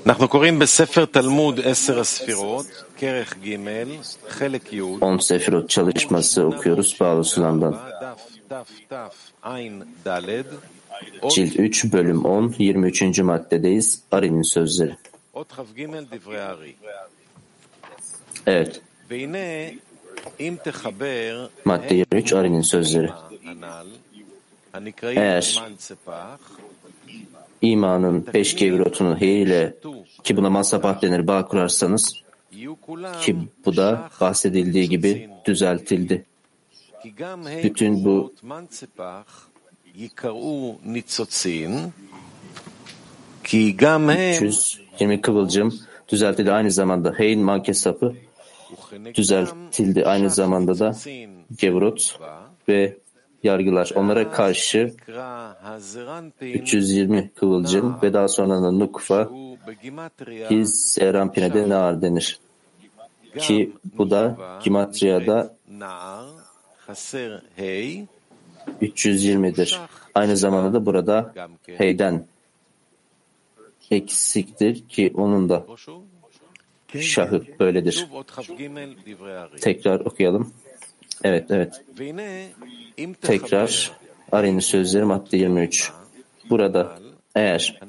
אנחנו קוראים בספר תלמוד 10 הספירות, כרך ג', חלק י', 10 Sefirot çalışması okuyoruz Bağlı Sulam'dan. Cilt 3, bölüm 10, 23. maddedeyiz. Ari'nin sözleri. Evet. Madde 23, Ari'nin sözleri. Eğer imanın 5 gevrotunun ile ki buna mansapah denir bağ kurarsanız ki bu da bahsedildiği gibi düzeltildi. Bütün bu 320 kıvılcım düzeltildi. Aynı zamanda Heyn mankesapı düzeltildi. Aynı zamanda da gevrot ve yargılar. Onlara karşı 320 kıvılcım ve daha sonra da nukfa ki Zeranpine'de nar denir. Ki bu da Gimatriya'da 320'dir. Aynı zamanda da burada heyden eksiktir ki onun da şahı böyledir. Tekrar okuyalım. Evet. Tekrar Ari'nin sözleri madde 23. Burada eğer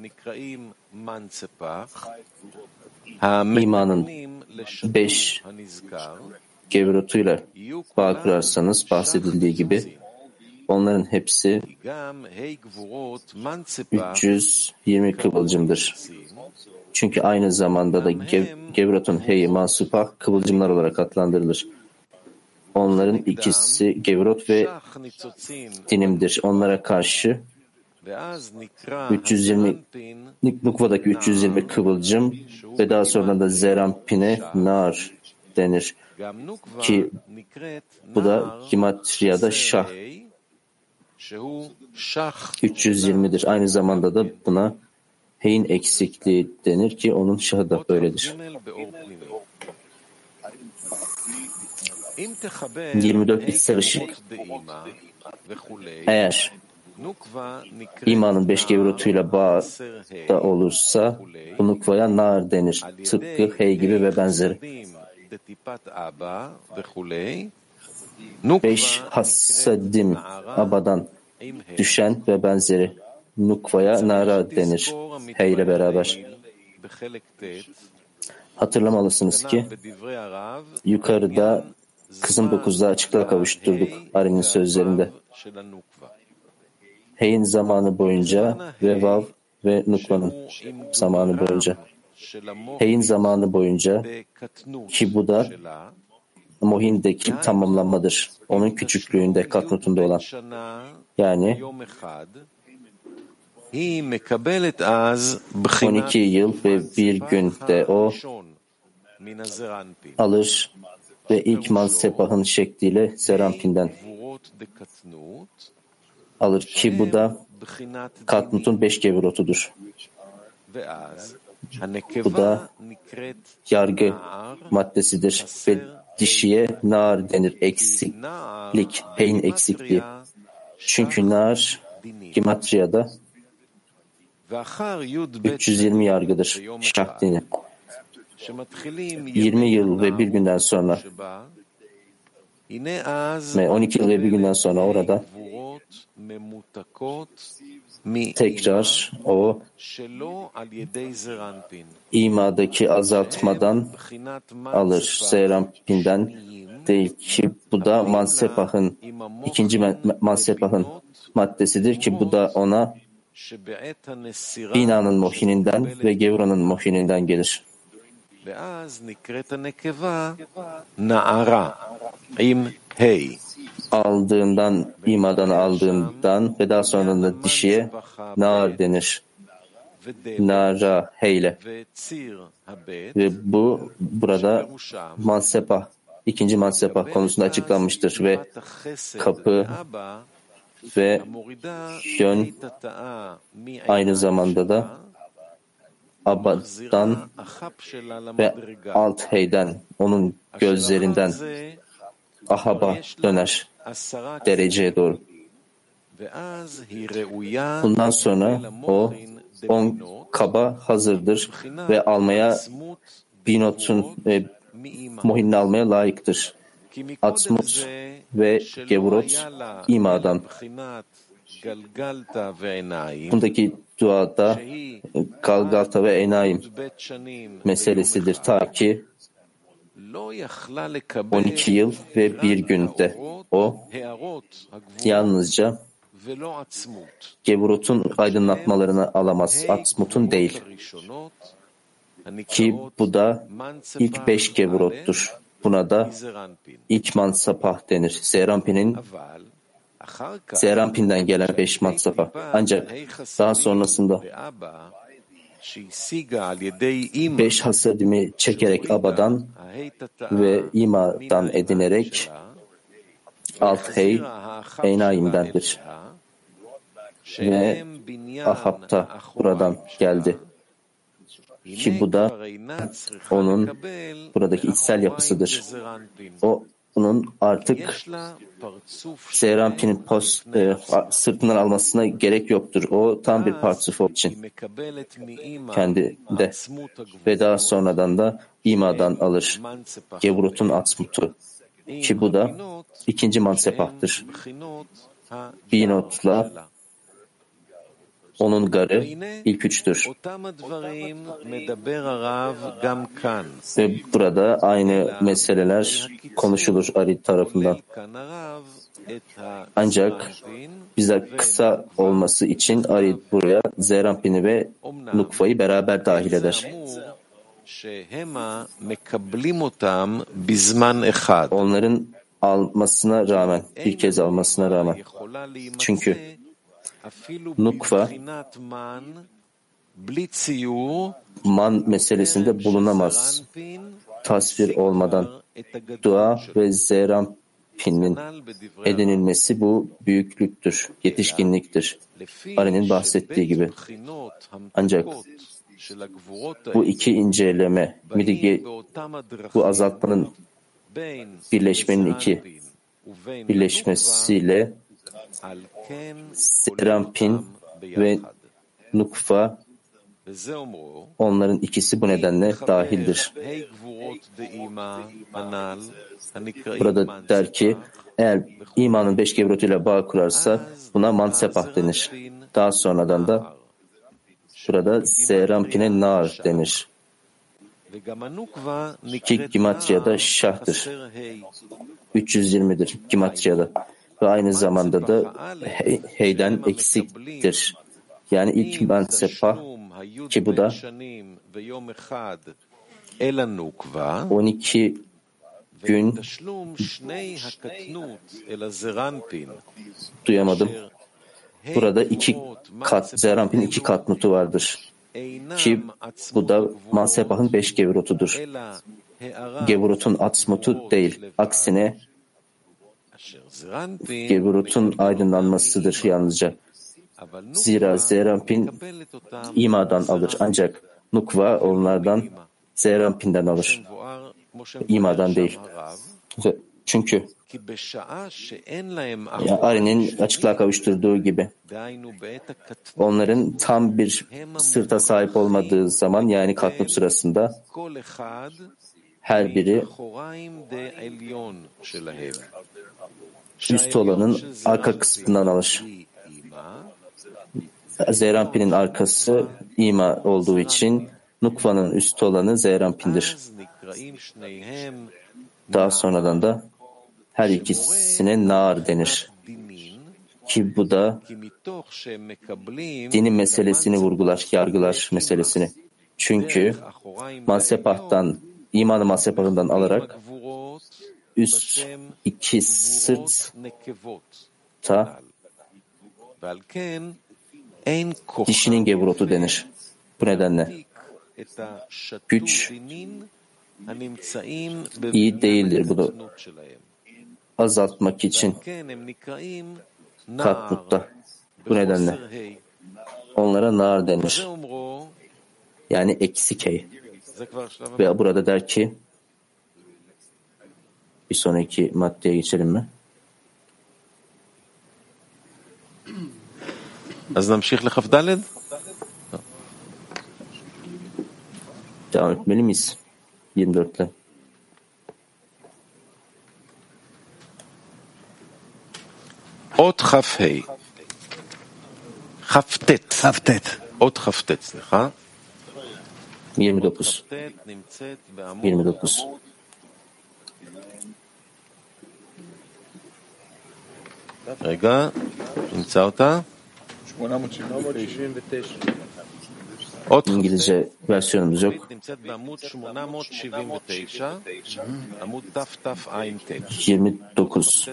imanın 5 gevrotuyla bağ kurarsanız bahsedildiği gibi onların hepsi 320 kıvılcımdır. Çünkü aynı zamanda da gevrotun heyi mansupah kıvılcımlar olarak adlandırılır. Onların ikisi gevrot ve dinimdir. Onlara karşı 320 nukvadaki 320 kıvılcım ve daha sonra da Zeranpine nar denir. Ki bu da Gimatriya'da şah 320'dir. Aynı zamanda da buna heyin eksikliği denir ki onun şahı da böyledir. 24 içsel ışık. Eğer imanın 5 gevrotuyla bağda olursa bu nukvaya nar denir. Tıpkı hey gibi ve benzeri. 5 hassadim abadan düşen ve benzeri nukvaya nara denir. Hey ile beraber. Hatırlamalısınız ki yukarıda kısım 9'da açıklığa kavuşturduk Ari'nin sözlerinde. Hey'in zamanı boyunca ve vav ve nukvanın zamanı boyunca. Hey'in zamanı boyunca ki bu da Mohin'deki tamamlanmadır. Onun küçüklüğünde, katnutunda olan. Yani 12 yıl ve bir günde o alır ve ilk mansepahın şekliyle Zeranpin'den alır ki bu da katnutun 5 gevrotudur. Bu da yargı maddesidir ve dişiye nar denir. Eksiklik, heyn eksikliği. Çünkü nar Gimatriya'da 320 yargıdır. Şah dini. 20 yıl ve bir günden sonra ve 12 yıl ve bir günden sonra orada tekrar o imadaki azaltmadan alır. Zeranpin'den değil ki bu da mansepahın ikinci mansepahın maddesidir ki bu da ona binanın mohininden ve gevranın mohininden gelir. Aldığından, imadan aldığından ve daha sonra da dişiye nar denir. Nara heyle. Ve bu burada mansepah, ikinci mansepah konusunda açıklanmıştır ve kapı ve yön aynı zamanda da Abad'dan ve alt heyden, onun gözlerinden Ahab'a döner dereceye doğru. Bundan sonra o 10 kaba hazırdır ve almaya binotun mohinini almaya layıktır. Atzmut ve Gevurot imadan. Bundaki duada Galgalta ve Enayim meselesidir. Ta ki 12 yıl ve bir günde o yalnızca Gevurot'un aydınlatmalarını alamaz. Atzmut'un değil. Ki bu da ilk 5 Gevurot'tur. Buna da ilk mansapah denir. Zerampin'den gelen 5 mansapah. Ancak daha sonrasında 5 hasadimi çekerek Aba'dan ve İma'dan edinerek alt hey Enayim'dendir. Ve Ahab'ta buradan geldi. Ki bu da onun buradaki içsel yapısıdır. Onun artık Zerampin'in sırtından almasına gerek yoktur. O tam bir parçası için kendinde ve daha sonradan da İma'dan alır. Gevurot'un Atzmut'u. Ki bu da ikinci mansepahtır. Binot'la onun garı ilk üçtür. Ve burada aynı meseleler konuşulur Arid tarafından. Ancak bize kısa olması için Arid buraya Zerampin'i ve Nukva'yı beraber dahil eder. Onların almasına rağmen, bir kez almasına rağmen. Çünkü Nukva man meselesinde bulunamaz. Tasvir olmadan dua ve Zerampin'in edinilmesi bu büyüklüktür, yetişkinliktir. Ari'nin bahsettiği gibi. Ancak bu iki inceleme, bu azaltmanın birleşmenin birleşmesiyle Zerampin ve Nukva onların ikisi bu nedenle dahildir. Burada der ki eğer imanın 5 Gevurot'uyla bağ kurarsa buna mansepah denir. Daha sonradan da burada Zerampin'e nar denir. Ki Gimatriya'da şahdır. 320'dir Gimatriya'da. Ve aynı zamanda da heyden eksiktir. Yani ilk mansepah ki bu da 12 gün duyamadım. Burada 2 kat, Zerampin'in 2 katnutu vardır. Ki bu da mansepahın 5 Gevurot'udur. Gevurot'un Atzmut'u değil. Aksine Gevurot'un aydınlanmasıdır yalnızca. Zira Zerampin İma'dan alır. Ancak Nukva onlardan Zerampin'den alır. İma'dan değil. Çünkü Ari'nin açıklığa kavuşturduğu gibi onların tam bir sırta sahip olmadığı zaman yani katnut sırasında her biri üst olanın arka kısmından alır. Zerampin'in arkası İma olduğu için Nukva'nın üst olanı Zerampin'dir. Daha sonradan da her ikisine nar denir. Ki bu da dinin meselesini vurgular, yargılar meselesini. Çünkü mansepahtan, imanı mansepahından alarak üst iki sırtta dişinin Gevurot'u denir. Bu nedenle güç iyi değildir bunu azaltmak için katnutta. Bu nedenle onlara nar denir. Yani eksik hey. Ve burada der ki bir sonraki maddeye geçelim mi? אז נמשיך לכ"ד? Devam etmeli miyiz? 24'le. אות כ"ה. כ"ט. אות כ"ט, סליחה. 29. 29. רגע, נמצא אותה? 879. İngilizce versiyonumuz yok. נמצאת בעמוד 879, עמוד תתע"ט. 29.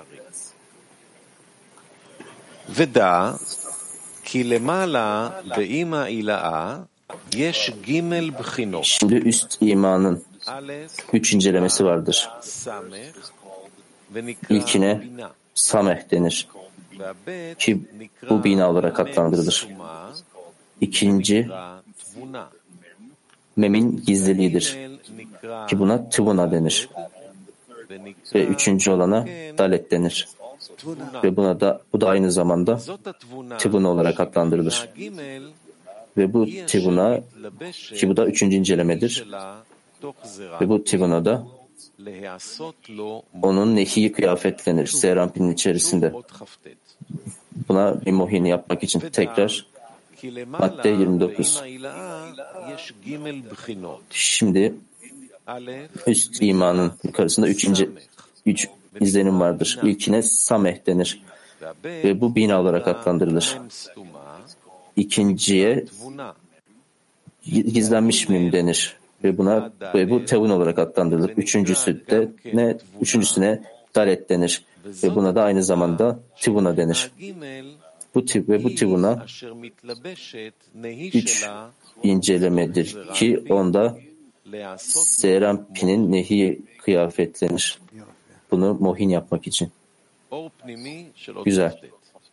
ודע כי למעלה באמא עילאה יש ג' בחינות. Şimdi üst imanın א' 3 incelemesi vardır. סמך ונקרא İlkine בינה. Sameh denir והב' ki bu bina olarak adlandırılır. סתומה İkinci נקרא תבונה. Mem'in gizliliğidir נקרא ki buna Tıvuna denir. Ve üçüncü olana Dalet denir. Ve bu da aynı zamanda זאת התבונה Tıvuna olarak adlandırılır. שהג' Ve bu Tıvuna ki bu da üçüncü incelemedir. שלה תוך זרע Ve bu Tıvuna'da להיעשות לו onun nehi kıyafetlenir Serampinin içerisinde. אות כ"ט. Buna bir muhini yapmak için tekrar כי למעלה madde 29. באמא עילאה יש ג' בחינות. Şimdi א' üst imanın yukarısında üç izlenim vardır. İlkine Sameh denir והב' ve bu bina olarak adlandırılır. מ' סתומה İkinciye תבונה. gizlenmiş mim denir ve bu Tevun olarak adlandırılır. Üçüncüsüne Dalet denir ve buna da aynı zamanda Tivuna denir. הג' Bu Tivuna אשר מתלבשת נהי 3 שלה incelemedir ki onda להיעשות Serampinin nehi kıyafetlenir. Bunu mohin yapmak için. אור פנימי של אות Güzel. כ"ט.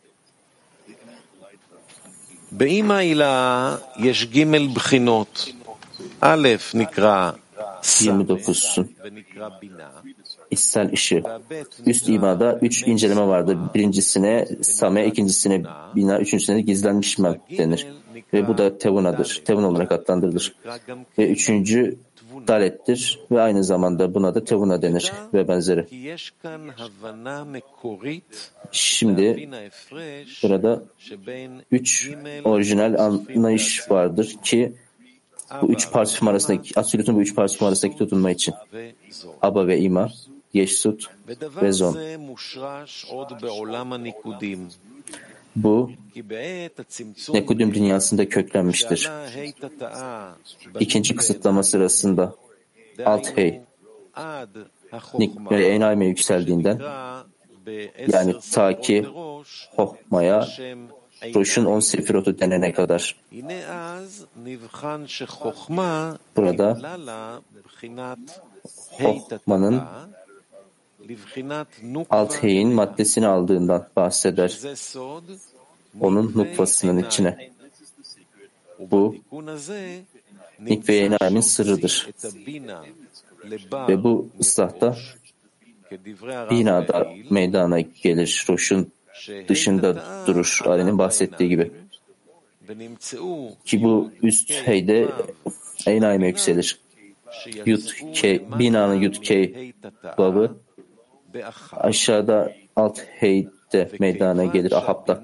באמא עילאה יש ג' בחינות. א' נקרא סמך 29'sun ונקרא בינה. içsel ışığı. והב' Üst imada 3 inceleme vardır. Birincisine Same, ikincisine Bina, üçüncüsüne de gizlenmiş mem denir. Ve bu da Tevuna'dır. Tevun olarak adlandırılır. נקרא גם Ve üçüncü Dalet'tir ve aynı zamanda buna da Tevuna denir ve benzeri. כי יש כאן הבנה מקורית Şimdi להבין ההפרש burada שבין 3 ג' orijinal anlayış vardır ki bu üç parçam arasındaki, Absolut'un bu üç parçam arasındaki tutunma için. וזו. Aba ve İma, Yeşsut ודבר ve Zon. זה מושרש עוד בעולם הניקודים. Bu כי בעת הצמצום Nekudüm dünyasında köklenmiştir. שעלה ה' תתאה İkinci kısıtlama sırasında alt hey עד Nik ve Enayme yükseldiğinden yani ta ki Hohma'ya Roş'un 10 sefirotu denene kadar. הנה אז נבחן שחוכמה Burada נגלה לה בחינת Hohma'nın לבחינת נוקבה, alt heyin maddesini aldığından bahseder. שזה סוד Onun nukvasının içine. Bu ובתיקון הזה Nik ve Enayme'nin sırrıdır. את הבינה לבר Ve bu ıslahta כדברי הרב binada לעיל, meydana gelir. Roş'un dışında durur. Ali'nin bahsettiği gibi. ונמצאו Ki bu üst heyde Enayme yükselir. Binanın Yud-Key babı aşağıda alt heyde meydana gelir Ahab'da.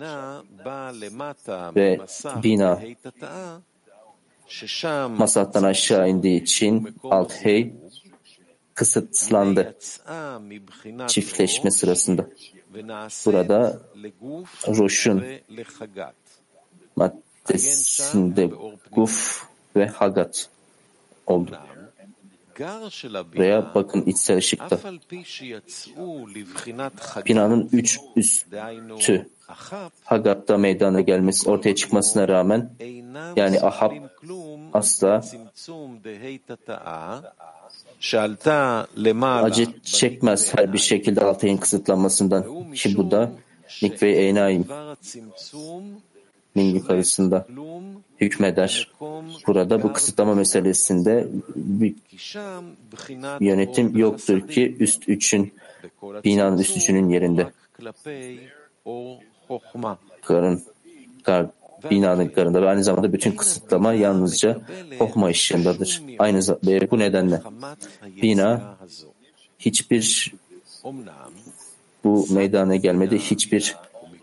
Ve bina Masattan aşağı indiği için alt hey kısıtlandı çiftleşme sırasında. Burada Roş'un maddesinde Guf ve Hagat oldu. Buraya bakın içsel ışıkta. Binanın 3 üstü Hagat'ta meydana gelmesi, ortaya çıkmasına rağmen yani Ahab asla acı çekmez her bir şekilde altayın kısıtlanmasından ki bu da Nik ve Enayim min yukarısında hükmeder. Burada bu kısıtlama meselesinde bir yönetim yoktur ki üst üçün binanın üst üçünün yerinde. binalıklarında ve aynı zamanda bütün kısıtlama yalnızca Hohma ışığındadır. Bu nedenle bina hiçbir bu meydana gelmede hiçbir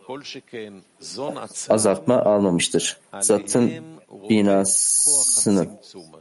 azaltma almamıştır. Zatın binasının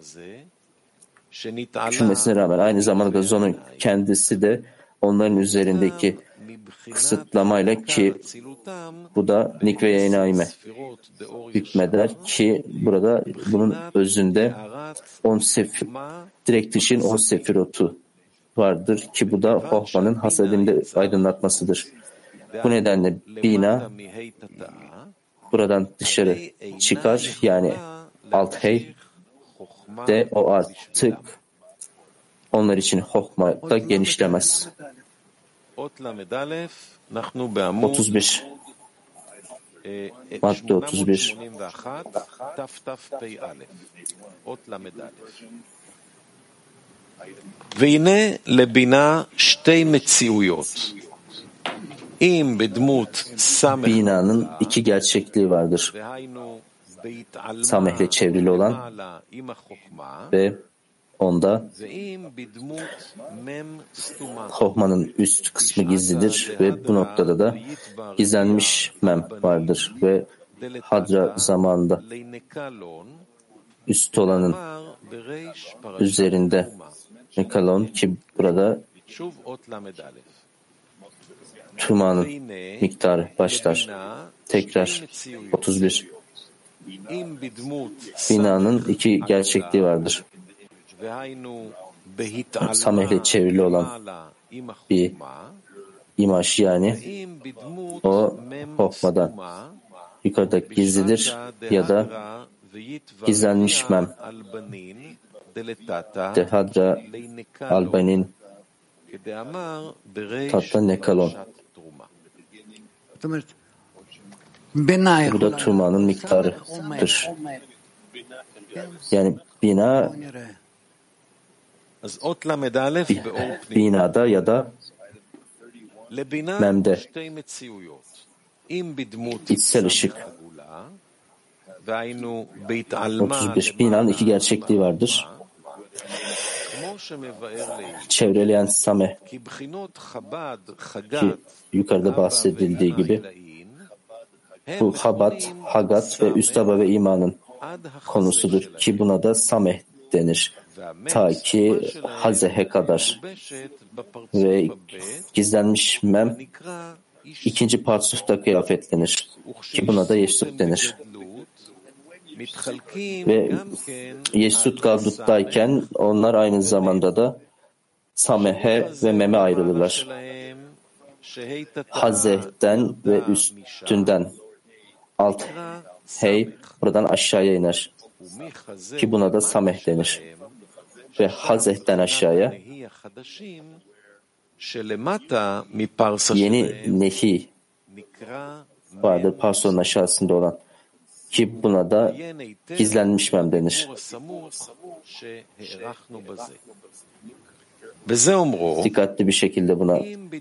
küçülmesine rağmen aynı zamanda zonun kendisi de onların üzerindeki kısıtlamayla ki bu da Nikve Yenaime hükmeder ki burada bunun özünde 10 direkt dışın 10 sefirotu vardır ki bu da Hohma'nın hasedinde aydınlatmasıdır. Bu nedenle bina buradan dışarı çıkar yani alt hey de o artık onlar için Hohma'da genişlemez. 31 madde 31 והנה לבינה שתי מציאויות. אם בדמות סמך binanın iki gerçekliği vardır. Samehle çevrili olan ve onda Hohma'nın üst kısmı gizlidir ve bu noktada da gizlenmiş mem vardır ve hadra zamanında üst olanın üzerinde Nekalon ki burada Tuma'nın miktarı başlar. Tekrar 31 binanın iki gerçekliği vardır. Samehle çevrili olan bir imaj yani o Hohma'dan yukarıda gizlidir ya da gizlenmiş mem Dehadra Albanin Tatta Nekalon. Bu da Tuma'nın miktarıdır. Yani bina binada ya da memde içsel ışık. 31 binanın iki gerçekliği vardır. Çevreleyen Sameh ki yukarıda bahsedildiği gibi bu Chabad, Hagat ve Üstaba ve imanın konusudur ki buna da Sameh denir. Ta ki Hazehe kadar ve gizlenmiş mem ikinci parsufta kıyafetlenir ki buna da Yeşsut denir. Ve Yeşsut Gavdut'tayken onlar aynı zamanda da Samehe ve Mem'e ayrılırlar. Hazeh'ten ve üstünden alt hey buradan aşağıya iner ki buna da Sameh denir. Ve Hazeh'ten aşağıya yeni Nehi vardır Parson'un aşağısında olan ki buna da gizlenmiş mem denir. Dikkatli bir şekilde buna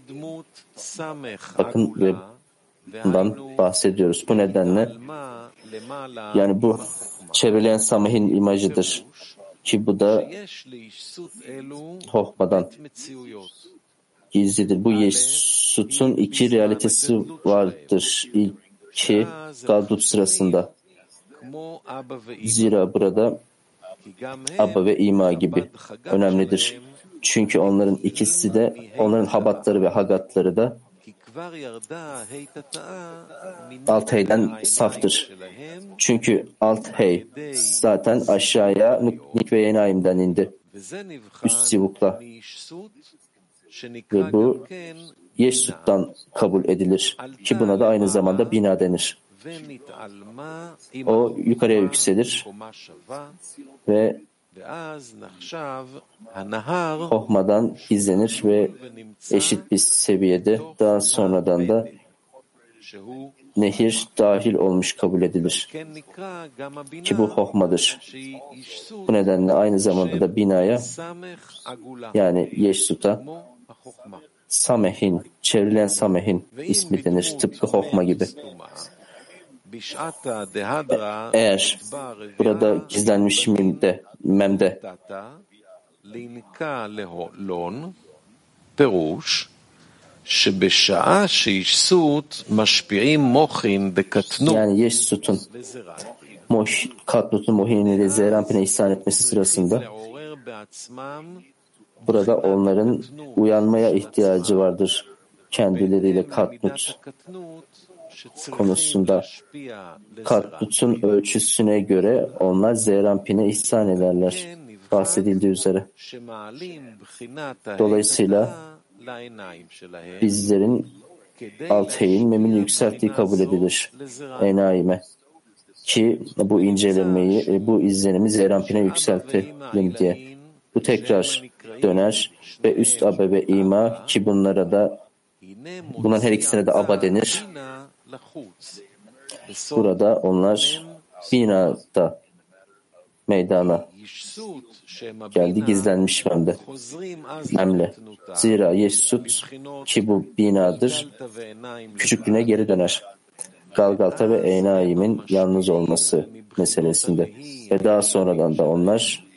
bakın ve bundan bahsediyoruz. Bu nedenle yani bu çevreleyen Sameh'in imajıdır ki bu da Hohma'dan gizlidir. Bu Yeşsut'un iki realitesi vardır. İlki Gavdut sırasında. Zira burada Abba ve İma gibi önemlidir. Çünkü onların ikisi de, onların Habatları ve Hagatları da alt heyden saftır. Çünkü alt hey zaten aşağıya Nikve Yenaim'den indi. Üst sivukla. Ve bu Yeşsut'tan kabul edilir. Ki buna da aynı zamanda bina denir. O yukarıya yükselir ve Hohma'dan gizlenir ve eşit bir seviyede daha sonradan da nehir dahil olmuş kabul edilir. Ki bu Hohma'dır. Bu nedenle aynı zamanda da binaya yani Yeşsut'a Sameh'in, çevrilen Sameh'in ismi denir. Tıpkı Hohma gibi. Eğer burada gizlenmiş memde yani Yeşsut'un Katlut'un Mohin'i ve Zerampin'e ihsan etmesi sırasında burada onların uyanmaya ihtiyacı vardır. Kendileriyle Katlut konusunda Katlut'un ölçüsüne göre onlar Zerampin'e ihsan ederler. Bahsedildiği üzere. Dolayısıyla bizlerin Altheyn memini yükselttiği kabul edilir. Enaime. Ki bu incelemeyi, bu izlenimi Zerampin'e yükseltelim diye. Bu tekrar döner ve üst abe ve ima ki bunların her ikisine de aba denir. Burada onlar binada meydana geldi gizlenmiş memle. Zira Yeşsut ki bu binadır küçüklüğüne geri döner. Galgalta ve Enaim'in yalnız olması meselesinde. Ve daha sonradan da onlar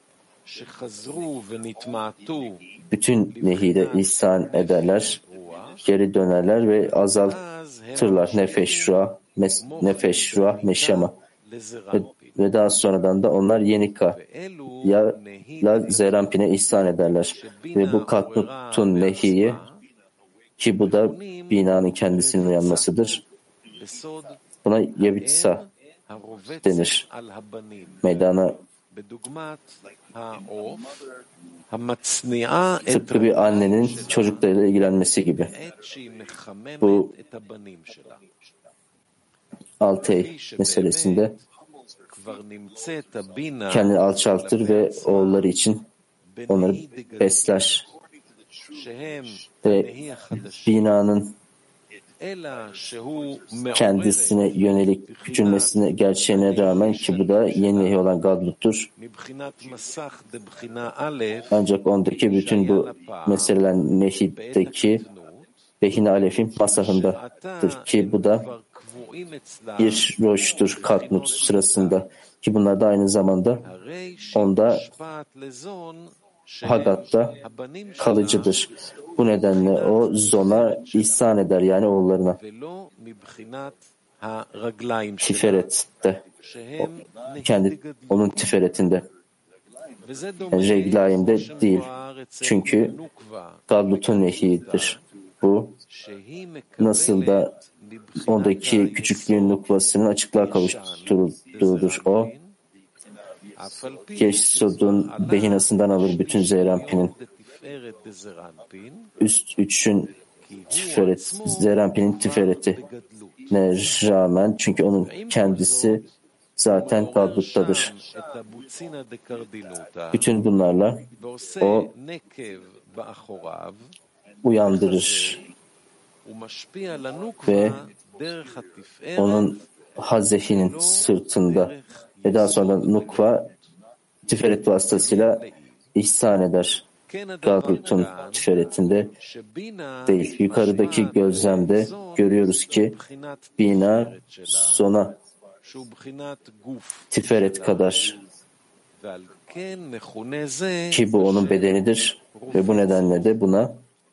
bütün nehire ihsan ederler, geri dönerler ve azaltırlar nefeş, ruah, neşama. Ve daha sonradan da onlar Yenika ya Zerampin'e ihsan ederler. Ve bu Katnut'un nehiyi ki bu da binanın kendisinin uyanmasıdır. Buna Yevitsa denir. Meydana tıpkı bir annenin çocuklarıyla ilgilenmesi gibi. Bu Altey meselesinde kendini alçaltır ve oğulları için onları besler. Ve binanın kendisine yönelik küçülmesine gerçeğine rağmen ki bu da yeni nehi olan Gadlut'tur. Ancak ondaki bütün bu meseleler nehideki Behin Alef'in masahındadır ki bu da bir roştur Katnut sırasında ki bunlar da aynı zamanda onda Hadat'ta kalıcıdır. Bu nedenle o zona ihsan eder yani oğullarına. Tiferet'te. Onun tiferetinde. Yani Reglaim'de değil. Çünkü Gadlut'un nehidir. Bu nasıl da ondaki küçüklüğün nukvasının açıklığa kavuşturulduğudur. O Yeşsut'un behinasından alır bütün Zerampin'in. Üst üçün Zerampin'in tiferetine rağmen çünkü onun kendisi zaten Gadlut'tadır. Bütün bunlarla o uyandırır ve onun Hazehinin sırtında ve daha sonra Nukva tiferet vasıtasıyla ihsan eder. Gadlut'un tiferetinde değil. Yukarıdaki gözlemde görüyoruz ki bina sona tiferet kadar ki bu onun bedenidir ve bu nedenle de buna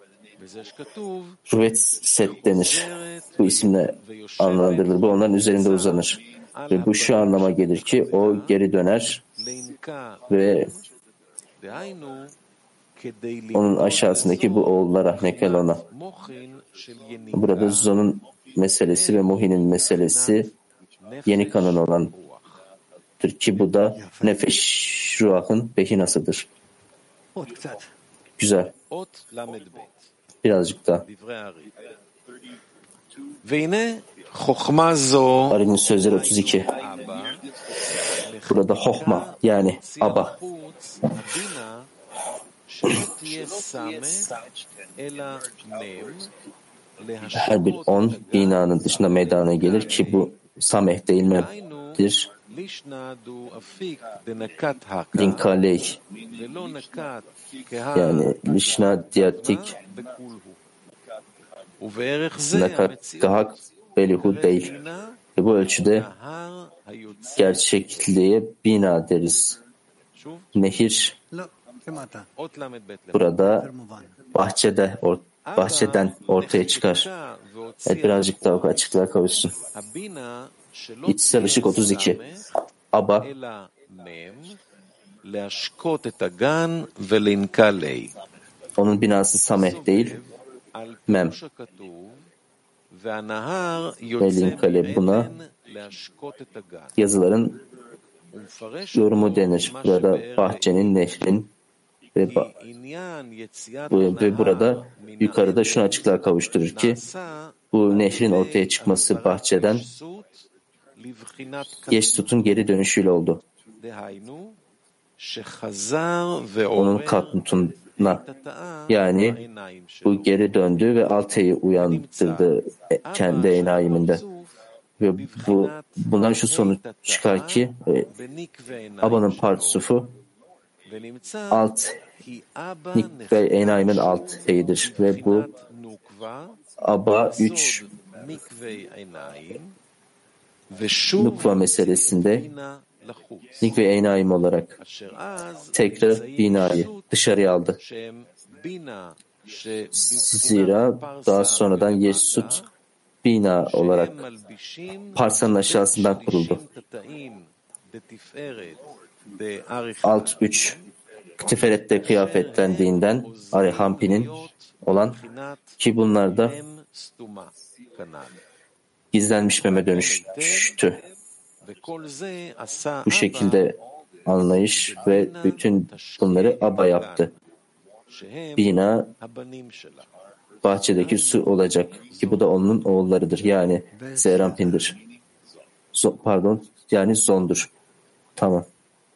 Ruvet Set denir. Bu isimle anlandırılır. Bu onların üzerinde uzanır. Ve bu şu anlama gelir ki o geri döner ve onun aşağısındaki bu oğullara, Nekelon'a. Burada Zon'un meselesi ve Mohin'in meselesi yeni kanon olandır ki bu da nefeş ruahın behinasıdır. Güzel. Birazcık daha. Ari'nin sözleri 32. Burada Hohma yani Aba. Her bir 10 binanın dışında meydana gelir ki bu Sameh değil midir? Dinkaley yani Lişna Diyatik Nakat Gahak Belihu değil. Ve bu ölçüde gerçekliğe bina deriz. Nehir burada bahçeden ortaya çıkar. Evet, birazcık daha açıklığa kavuşsun. İçsel ışık 32. Aba onun binası Sameh değil, Mem. Ve Linkale buna yazıların yorumu denir. Burada bahçenin, nehrin ve burada yukarıda şunu açıklığa kavuşturur ki bu nehrin ortaya çıkması bahçeden Yeşsut'un geri dönüşüyle oldu. Onun katnutuna, yani bu geri döndü ve Alte'yi uyandırdı kendi enayiminde. Ve bundan şu sonuç çıkar ki Aba'nın partsufu alt Nik ve Enaim'in alt heyidir. Ve bu Aba 3 Nukva meselesinde Nik ve Enaim olarak tekrar binayı dışarıya aldı. Zira daha sonradan Yeşsut bina olarak parsanın aşağısından kuruldu. Alt 3 Tiferet'te kıyafetlendiğinden Arihampin'in olan ki bunlar da gizlenmiş meme dönüştü. Bu şekilde anlayış ve bütün bunları Aba yaptı. Bina bahçedeki su olacak ki bu da onun oğullarıdır. Yani Zerampin'dir. Yani Zon'dur. Tamam.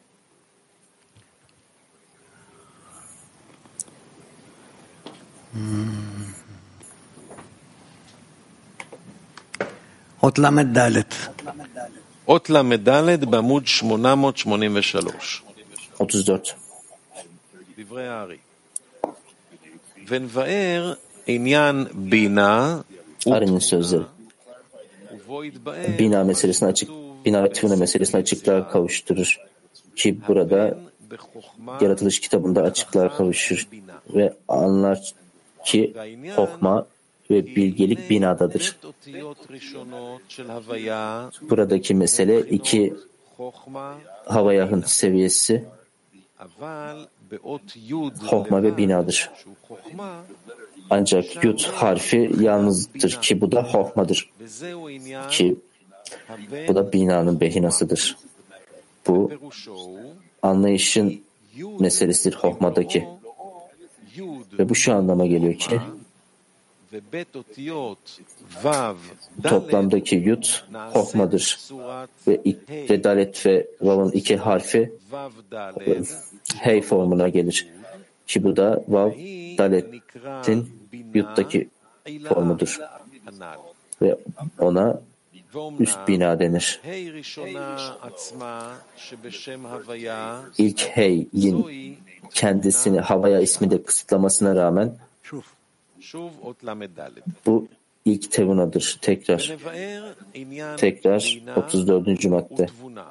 אות ל"ד. אות ל"ד בעמוד 883. 34. דברי הארי. ונבאר עניין בינה Ari'nin sözleri. Bina meselesini bina ve tüvne meselesini açıklığa kavuşturur. Ki burada Yaratılış kitabında açıklığa kavuşur ve anlar ki Hokma ve bilgelik binadadır. Buradaki mesele iki Havayah'ın seviyesi Hokma ve binadır. Ancak Yud harfi yalnızdır ki bu da Hokma'dır. Ki bu da binanın behinasıdır. Bu anlayışın meselesidir Hokma'daki. Ve bu şu anlama geliyor ki toplamdaki Yud Hokma'dır. Ve Dalet ve Vav'ın iki harfi Hey formuna gelir. Ki bu da Vav Dalet'in Yud'daki formudur. Ve ona üst bina denir. İlk Hey'in kendisini Havaya isminde kısıtlamasına rağmen bu ilk tevunadır. Tekrar 34. madde.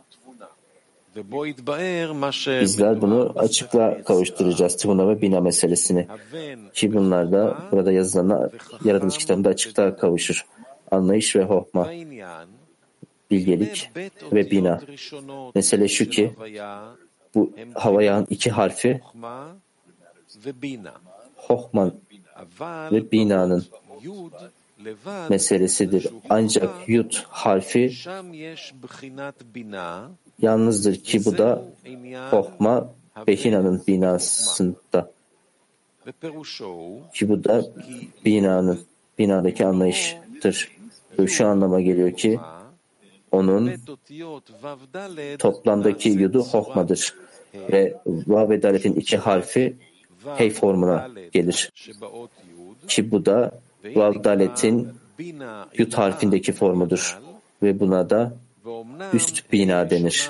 Bizler bunu açıklığa kavuşturacağız. Tevuna ve bina meselesini. Ki bunlar da burada yazılan Yaratılış kitabında açıklığa kavuşur. Anlayış ve Hokma, bilgelik ve bina. Mesele şu ki bu Havaya'nın iki harfi Hokman ve binanın meselesidir. Ancak Yud harfi yalnızdır ki bu da Hokma Behina'nın binasında. Ki bu da binadaki anlayıştır. Ve şu anlama geliyor ki onun toplamdaki Yud'u Hokma'dır. Ve Vav ve Dalet'in iki harfi Hey formuna gelir. Ki bu da Vav Dalet'in Yud harfindeki formudur. Ve buna da üst bina denir.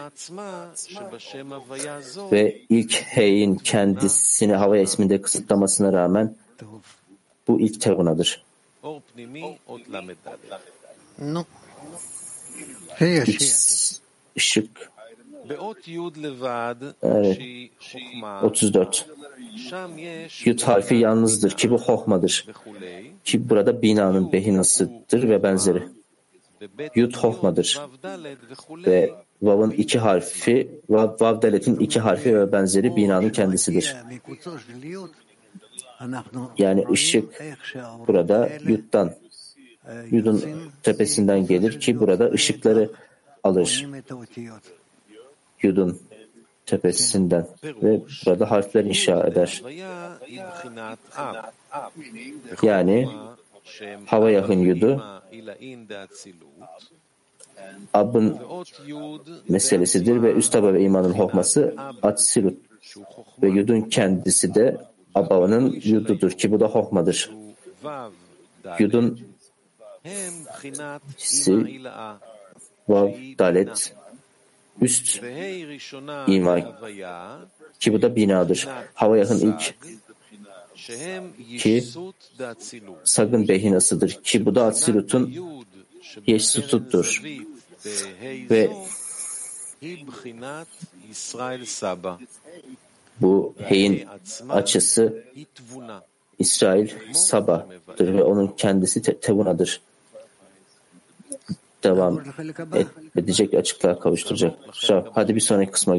Ve ilk Hey'in kendisini Havaya isminde kısıtlamasına rağmen bu ilk tevunadır. Üç ışık. Evet. 34. Yud harfi yalnızdır ki bu hohmadır. Ki burada binanın behinasıdır ve benzeri. Yud hohmadır. Ve vav'ın iki harfi, vav dalet'in iki harfi ve benzeri binanın kendisidir. Yani ışık burada yud'dan, yud'un tepesinden gelir ki burada ışıkları alır. Yud'un tepesinden ve burada harfler inşa eder. Yani hava yakın yudu abın meselesidir ve üst taba ve imanın hohması atsilut ve yudun kendisi de abavanın yududur ki bu da hohmadır. Yudun hissi vav dalet üst ima ki bu da binadır. Hava yakın ilk ki sagın behinasıdır ki bu da atsilutun yeşsututtur. Ve bu heyin açısı İsrail Saba'dır ve onun kendisi Tevuna'dır. Devam edecek, açıklığa kavuşturacak. Hadi bir sonraki kısma